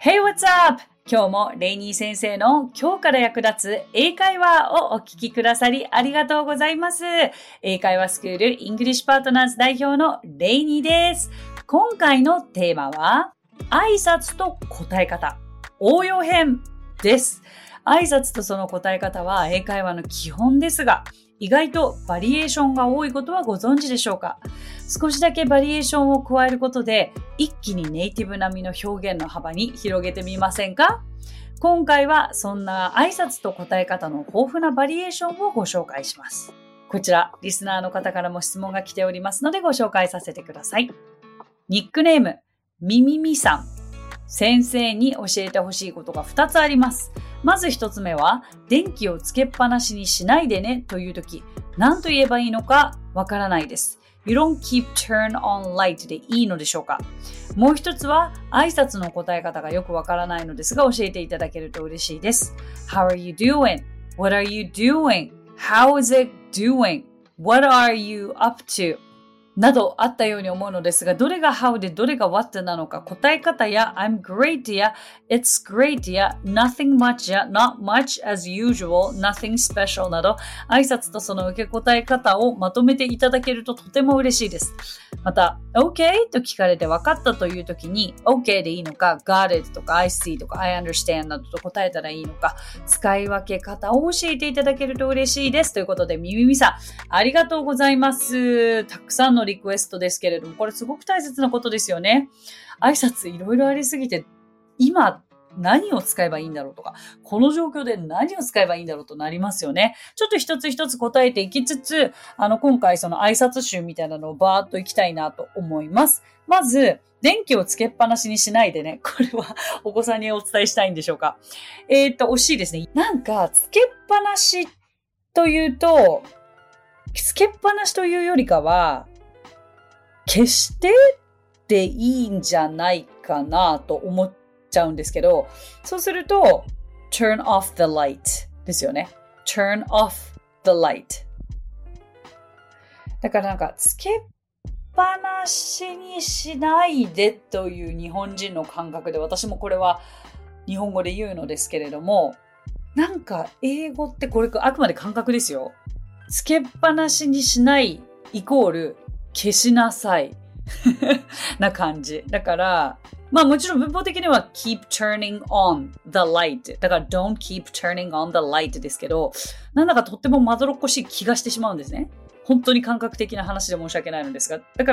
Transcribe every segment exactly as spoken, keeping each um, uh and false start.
Hey, what's up? 今日もレイニー先生の今日から役立つ英会話をお聞きくださりありがとうございます。英会話スクールイングリッシュパートナーズ代表のレイニーです。今回のテーマは挨拶と答え方、応用編です。挨拶とその答え方は英会話の基本ですが、意外とバリエーションが多いことはご存知でしょうか？少しだけバリエーションを加えることで一気にネイティブ並みの表現の幅に広げてみませんか？今回はそんな挨拶と答え方の豊富なバリエーションをご紹介します。こちらリスナーの方からも質問が来ておりますのでご紹介させてください。ニックネームみみみさん。先生に教えてほしいことがふたつあります。まずひとつめは、電気をつけっぱなしにしないでねというとき、何と言えばいいのかわからないです。You don't keep turn on light でいいのでしょうか？もう一つは、挨拶の答え方がよくわからないのですが、教えていただけると嬉しいです。How are you doing? What are you doing? How is it doing? What are you up to?などあったように思うのですが、どれが how でどれが what なのか、答え方や I'm great や it's great や nothing much や not much as usual, nothing special など、挨拶とその受け答え方をまとめていただけるととても嬉しいです。また、OK と聞かれて分かったというときに、OK でいいのか、got it とか I see とか I understand などと答えたらいいのか、使い分け方を教えていただけると嬉しいです。ということで、みみみさん、ありがとうございます。たくさんのリクエストですけれども、これすごく大切なことですよね。挨拶いろいろありすぎて、今何を使えばいいんだろうとか、この状況で何を使えばいいんだろうとなりますよね。ちょっと一つ一つ答えていきつつ、あの今回その挨拶集みたいなのをバーっといきたいなと思います。まず、電気をつけっぱなしにしないでね。これはお子さんにお伝えしたいんでしょうか。えーっと、惜しいですね。なんか、つけっぱなしというと、つけっぱなしというよりかは、消してでいいんじゃないかなと思っちゃうんですけど、そうすると turn off the light ですよね。turn off the light。だからなんかつけっぱなしにしないでという日本人の感覚で、私もこれは日本語で言うのですけれども、なんか英語ってこれあくまで感覚ですよ。つけっぱなしにしないイコール消しなさいな感じ。だから、まあもちろん文法的には keep turning on the light。だから don't keep turning on the light ですけど、なんだかとってもまどろっこしい気がしてしまうんですね。本当に感覚的な話で申し訳ないのですが。だから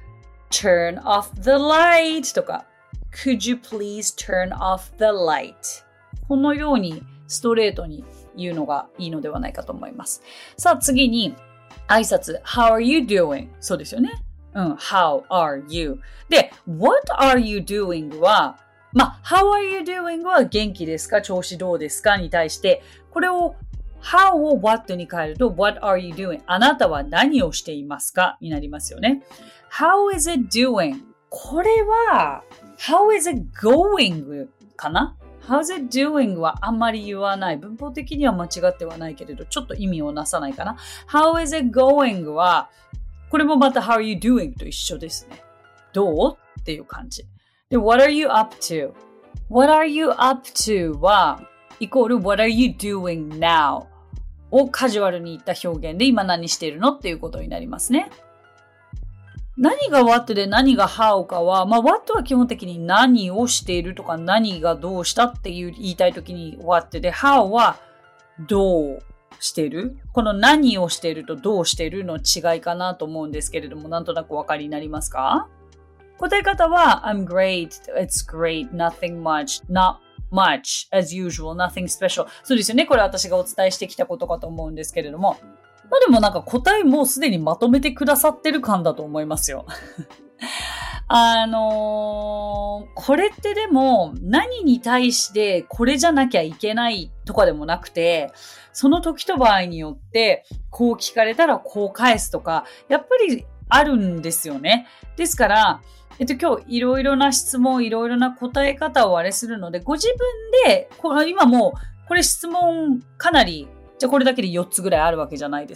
turn off the light とか could you please turn off the light。このようにストレートに言うのがいいのではないかと思います。さあ次に、挨拶 How are you doing? そうですよね。うん。How are you? で、What are you doing? は、まあ、How are you doing? は元気ですか？調子どうですか？に対して、これを How を What に変えると What are you doing? あなたは何をしていますか？になりますよね。How is it doing? これは How is it going? かな？How's it doing はあんまり言わない。文法的には間違ってはないけれど、ちょっと意味をなさないかな。How is it going は、これもまた How are you doing と一緒ですね。どうっていう感じ。で、What are you up to? What are you up to は、イコール What are you doing now? をカジュアルに言った表現で今何しているのっていうことになりますね。何が what で何が how かは、まあ what は基本的に何をしているとか何がどうしたっていう言いたいときに what で、how はどうしている？この何をしているとどうしているの違いかなと思うんですけれども、なんとなくお分かりになりますか？答え方は I'm great, it's great, nothing much, not much, as usual, nothing special。そうですよね。これ私がお伝えしてきたことかと思うんですけれども、まあでもなんか答えもすでにまとめてくださってる感だと思いますよ。あのー、これってでも何に対してこれじゃなきゃいけないとかでもなくて、その時と場合によってこう聞かれたらこう返すとか、やっぱりあるんですよね。ですから、えっと今日いろいろな質問、いろいろな答え方をあれするので、ご自分で、これ今もうこれ質問かなりじゃあこれだけでよっつぐらいあるわけじゃないですか。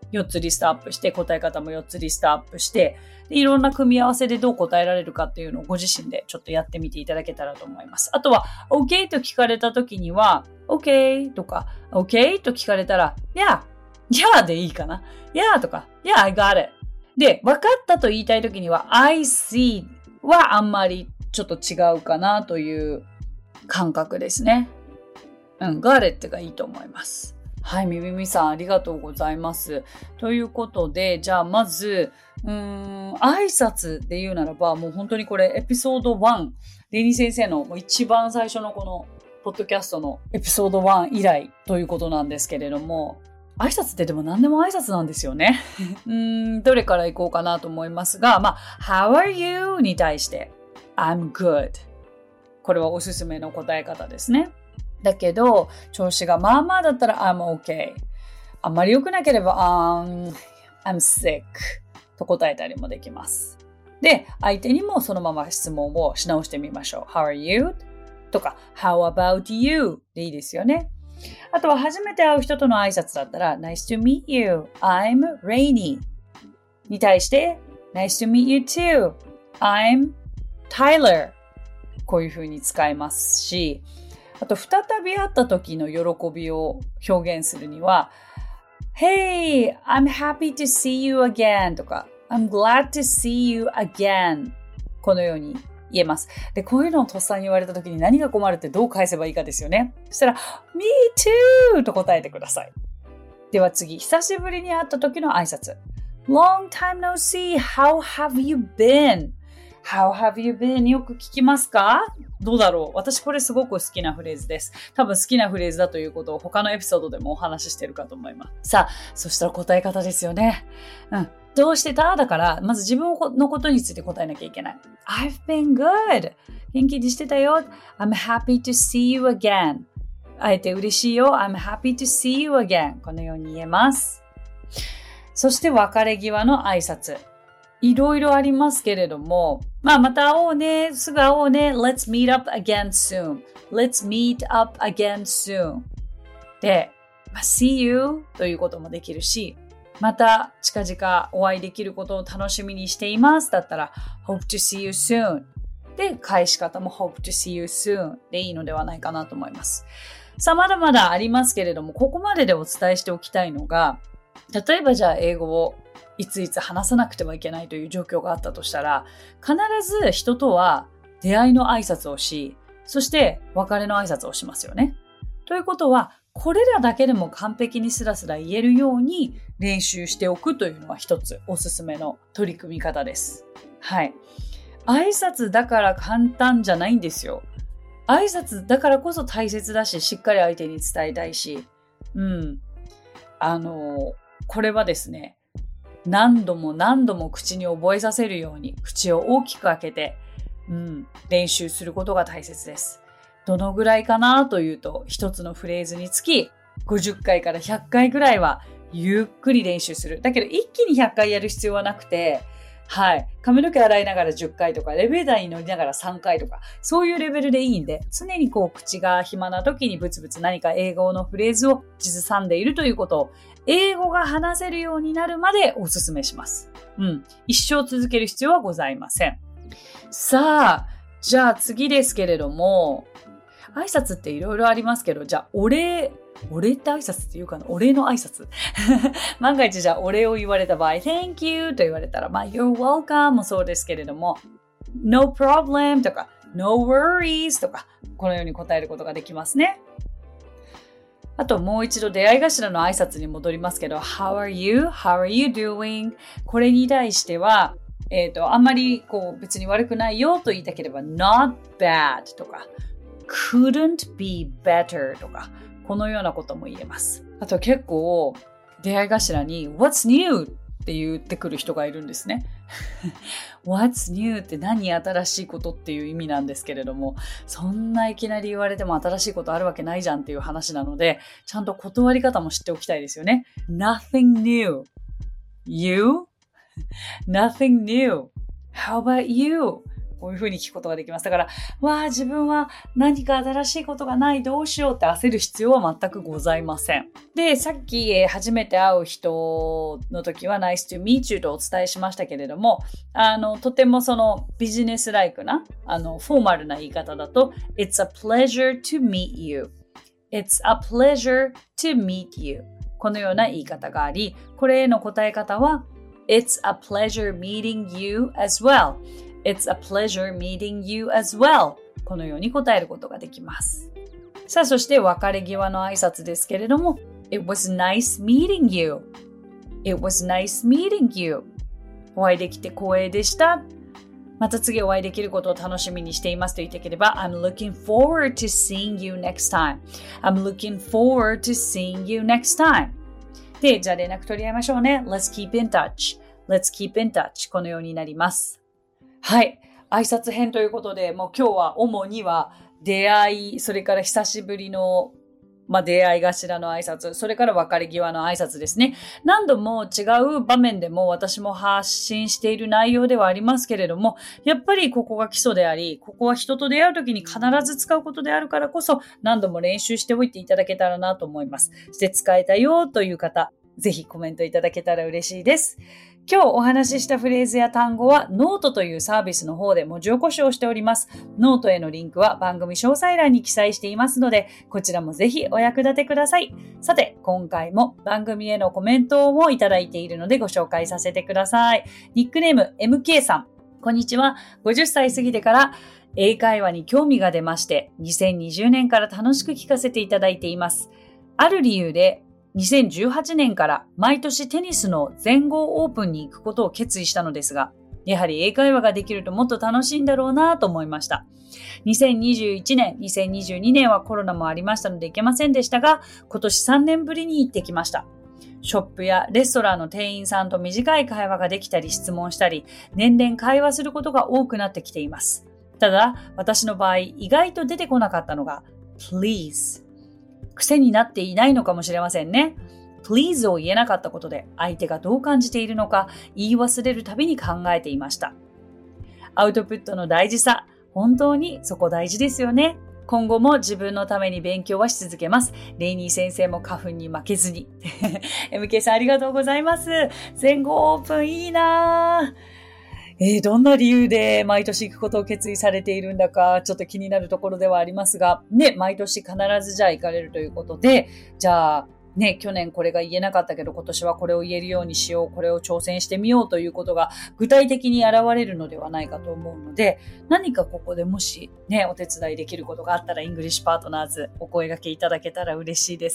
よっつリストアップして、答え方もよっつリストアップして、でいろんな組み合わせでどう答えられるかっていうのをご自身でちょっとやってみていただけたらと思います。あとは、OK と聞かれた時には、OK とか、OK と聞かれたら、Yeah, Yeah でいいかな。Yeah とか、Yeah, I got it。で、分かったと言いたい時には、I see はあんまりちょっと違うかなという感覚ですね。うん、got it がいいと思います。はい、みみみさんありがとうございます。ということで、じゃあまず、うーん、挨拶で言うならば、もう本当にこれエピソードワン、レニー先生のもう一番最初のこのポッドキャストのエピソードワン以来ということなんですけれども、挨拶ってでも何でも挨拶なんですよね。うーん、どれから行こうかなと思いますが、まあ、How are you? に対して、I'm good。これはおすすめの答え方ですね。だけど、調子がまあまあだったら I'm okay。あんまり良くなければ I'm, I'm sick と答えたりもできます。で、相手にもそのまま質問をし直してみましょう。How are you? とか How about you? でいいですよね。あとは初めて会う人との挨拶だったら Nice to meet you. I'm Rainy に対して Nice to meet you too. I'm Tyler こういう風に使いますし、あと再び会った時の喜びを表現するには Hey, I'm happy to see you again とか I'm glad to see you again このように言えます。で、こういうのをとっさに言われた時に何が困るってどう返せばいいかですよね。そしたら Me too と答えてください。では次、久しぶりに会った時の挨拶 Long time no see, how have you been?How have you been? よく聞きますか？どうだろう？私これすごく好きなフレーズです。多分好きなフレーズだということを他のエピソードでもお話ししてるかと思います。さあ、そしたら答え方ですよね。うん。どうしてた？だから、まず自分のことについて答えなきゃいけない。I've been good. 元気にしてたよ。I'm happy to see you again. 会えて嬉しいよ。I'm happy to see you again. このように言えます。そして別れ際の挨拶。いろいろありますけれども、まあまた会おうね、すぐ会おうね、Let's meet up again soon. Let's meet up again soon. で、まあ、See you ということもできるし、また近々お会いできることを楽しみにしていますだったら Hope to see you soon. で、返し方も Hope to see you soon でいいのではないかなと思います。さあまだまだありますけれども、ここまででお伝えしておきたいのが、例えばじゃあ英語をいついつ話さなくてはいけないという状況があったとしたら、必ず人とは出会いの挨拶をし、そして別れの挨拶をしますよね。ということは、これらだけでも完璧にスラスラ言えるように練習しておくというのは一つおすすめの取り組み方です。はい。挨拶だから簡単じゃないんですよ。挨拶だからこそ大切だし、しっかり相手に伝えたいし、うん。あの、これはですね、何度も何度も口に覚えさせるように口を大きく開けて、うん、練習することが大切です。どのぐらいかなというと、一つのフレーズにつきごじゅっかいからひゃっかいぐらいはゆっくり練習する。だけど一気にひゃっかいやる必要はなくて、はい。髪の毛洗いながらじゅっかいとか、エレベーターに乗りながらさんかいとか、そういうレベルでいいんで、常にこう口が暇な時にブツブツ何か英語のフレーズを口ずさんでいるということを、英語が話せるようになるまでお勧めします。うん。一生続ける必要はございません。さあ、じゃあ次ですけれども、挨拶っていろいろありますけど、じゃあお礼、お礼って挨拶っていうかな、お礼の挨拶万が一じゃあお礼を言われた場合 Thank you と言われたら、まあ You're welcome もそうですけれども No problem とか No worries とかこのように答えることができますね。あともう一度出会い頭の挨拶に戻りますけど How are you? How are you doing? これに対しては、えっと、あんまりこう別に悪くないよと言いたければ Not bad とか Couldn't be better とかこのようなことも言えます。あと結構出会い頭に What's new? って言ってくる人がいるんですね。What's new? って何新しいことっていう意味なんですけれども、そんないきなり言われても新しいことあるわけないじゃんっていう話なので、ちゃんと断り方も知っておきたいですよね。Nothing new. You? Nothing new. How about you? ここういうふうに聞くことができます。だから、わあ、自分は何か新しいことがない、どうしようって焦る必要は全くございません。で、さっき、えー、初めて会う人の時は Nice to meet you とお伝えしましたけれども、あの、とてもそのビジネスライクな、あの、フォーマルな言い方だと、It's a pleasure to meet you.It's a pleasure to meet you. このような言い方があり、これへの答え方は、It's a pleasure meeting you as well.It's a pleasure meeting you as well. このように答えることができます。さあ、そして別れ際の挨拶ですけれども、It was nice meeting you. It was nice meeting you. お会いできて光栄でした。また次お会いできることを楽しみにしていますと言っていければ I'm looking forward to seeing you next time. I'm looking forward to seeing you next time. で、じゃあ連絡取り合いましょうね。Let's keep in touch. Let's keep in touch. このようになります。はい。挨拶編ということで、もう今日は主には出会い、それから久しぶりのまあ、出会い頭の挨拶、それから別れ際の挨拶ですね。何度も違う場面でも私も発信している内容ではありますけれども、やっぱりここが基礎であり、ここは人と出会うときに必ず使うことであるからこそ、何度も練習しておいていただけたらなと思います。そして使えたよという方、ぜひコメントいただけたら嬉しいです。今日お話ししたフレーズや単語はノートというサービスの方で文字起こしをしております。ノートへのリンクは番組詳細欄に記載していますので、こちらもぜひお役立てください。さて、今回も番組へのコメントもいただいているのでご紹介させてください。ニックネーム エムケー さん。こんにちは。ごじゅっさい過ぎてから英会話に興味が出まして、にせんにじゅうねんから楽しく聞かせていただいています。ある理由で、にせんじゅうはちねんから毎年テニスの全豪オープンに行くことを決意したのですが、やはり英会話ができるともっと楽しいんだろうなと思いました。にせんにじゅういちねん、にせんにじゅうにねんはコロナもありましたので行けませんでしたが、今年さんねんぶりに行ってきました。ショップやレストランの店員さんと短い会話ができたり質問したり、年々会話することが多くなってきています。ただ、私の場合、意外と出てこなかったのが、please。癖になっていないのかもしれませんね。please を言えなかったことで相手がどう感じているのか言い忘れるたびに考えていました。アウトプットの大事さ、本当にそこ大事ですよね。今後も自分のために勉強はし続けます。レイニー先生も花粉に負けずに。エムケー さんありがとうございます。全豪オープンいいなぁ。えー、どんな理由で毎年行くことを決意されているんだか、ちょっと気になるところではありますが、ね、毎年必ずじゃあ行かれるということで、じゃあ、ね、去年これが言えなかったけど、今年はこれを言えるようにしよう、これを挑戦してみようということが具体的に現れるのではないかと思うので、何かここでもしね、お手伝いできることがあったら、イングリッシュパートナーズお声掛けいただけたら嬉しいです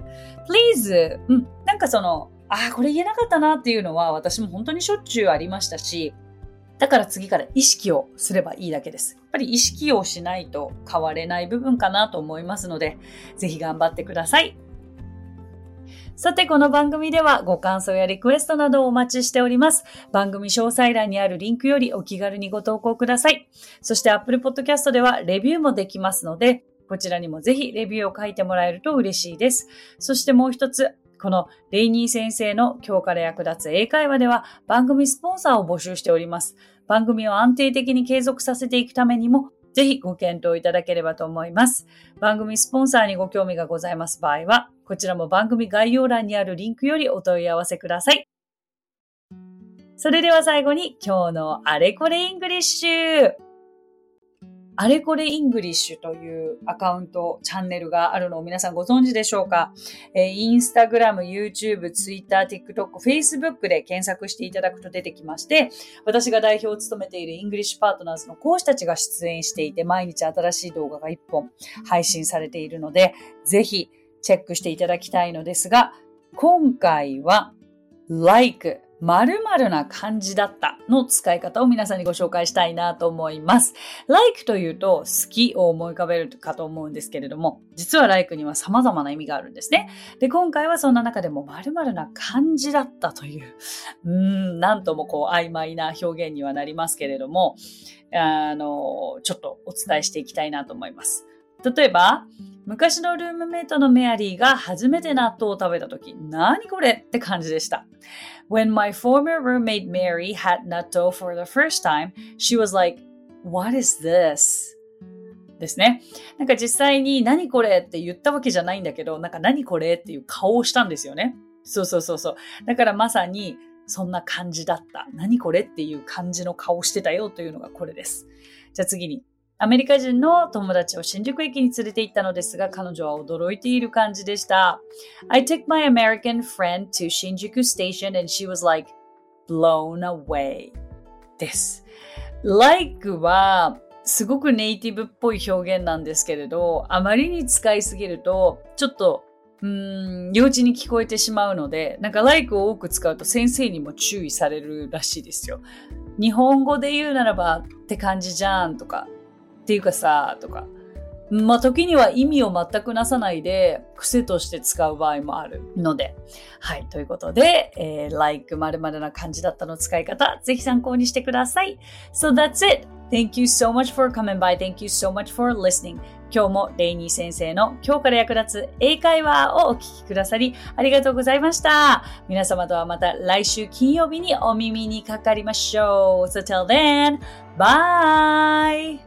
。Please! うん、なんかその、ああ、これ言えなかったなっていうのは私も本当にしょっちゅうありましたし、だから次から意識をすればいいだけです。やっぱり意識をしないと変われない部分かなと思いますので、ぜひ頑張ってください。さて、この番組ではご感想やリクエストなどをお待ちしております。番組詳細欄にあるリンクよりお気軽にご投稿ください。そして Apple Podcast ではレビューもできますので、こちらにもぜひレビューを書いてもらえると嬉しいです。そしてもう一つ、このレイニー先生の今日から役立つ英会話では番組スポンサーを募集しております。番組を安定的に継続させていくためにもぜひご検討いただければと思います。番組スポンサーにご興味がございます場合は、こちらも番組概要欄にあるリンクよりお問い合わせください。それでは最後に今日のあれこれイングリッシュ。あれこれイングリッシュというアカウント、チャンネルがあるのを皆さんご存知でしょうか？えー、インスタグラム、YouTube、Twitter、TikTok、Facebook で検索していただくと出てきまして、私が代表を務めているイングリッシュパートナーズの講師たちが出演していて、毎日新しい動画がいっぽん配信されているので、ぜひチェックしていただきたいのですが、今回は like〇〇な感じだったの使い方を皆さんにご紹介したいなと思います。like というと好きを思い浮かべるかと思うんですけれども、実は like には様々な意味があるんですね。で、今回はそんな中でも〇〇な感じだったという、うーん、なんともこう曖昧な表現にはなりますけれども、あの、ちょっとお伝えしていきたいなと思います。例えば、昔のルームメイトのメアリーが初めて納豆を食べたとき、何これって感じでした。When my former roommate Mary had natto for the first time, she was like, What is this? ですね。なんか実際に何これって言ったわけじゃないんだけど、なんか何これっていう顔をしたんですよね。そうそうそうそう。だからまさにそんな感じだった。何これっていう感じの顔してたよというのがこれです。じゃあ次に。アメリカ人の友達を新宿駅に連れて行ったのですが、彼女は驚いている感じでした。I took my American friend to Shinjuku Station and she was like, blown away です。like はすごくネイティブっぽい表現なんですけれど、あまりに使いすぎるとちょっとうーん幼稚に聞こえてしまうので、なんか like を多く使うと先生にも注意されるらしいですよ。日本語で言うならばって感じじゃんとかっていうかさとか、まあ時には意味を全くなさないで癖として使う場合もあるので、はい、ということで、えー、like 〇〇な感じだったの使い方、ぜひ参考にしてください。So that's it. Thank you so much for coming by. Thank you so much for listening. 今日もレイニー先生の今日から役立つ英会話をお聞きくださりありがとうございました。皆様とはまた来週金曜日にお耳にかかりましょう。So till then, bye!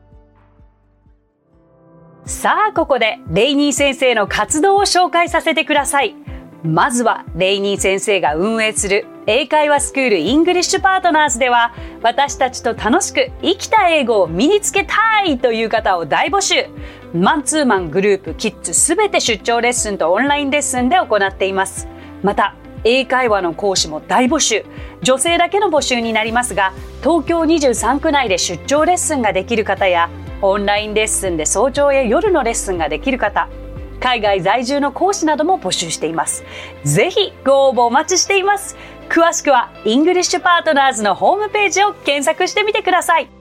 さあ、ここでレイニー先生の活動を紹介させてください。まずはレイニー先生が運営する英会話スクールイングリッシュパートナーズでは、私たちと楽しく生きた英語を身につけたいという方を大募集。マンツーマン、グループ、キッズすべて出張レッスンとオンラインレッスンで行っています。また英会話の講師も大募集。女性だけの募集になりますが、東京にじゅうさんく内で出張レッスンができる方や、オンラインレッスンで早朝や夜のレッスンができる方、海外在住の講師なども募集しています。ぜひご応募お待ちしています。詳しくはイングリッシュパートナーズのホームページを検索してみてください。